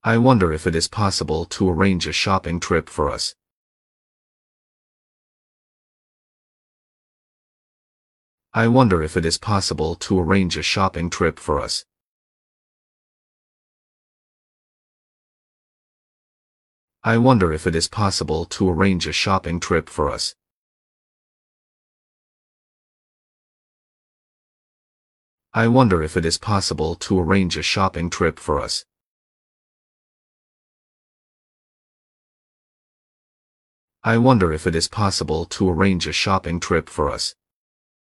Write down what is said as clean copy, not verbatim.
I wonder if it is possible to arrange a shopping trip for us. I wonder if it is possible to arrange a shopping trip for us. I wonder if it is possible to arrange a shopping trip for us. I wonder if it is possible to arrange a shopping trip for us. I wonder if it is possible to arrange a shopping trip for us.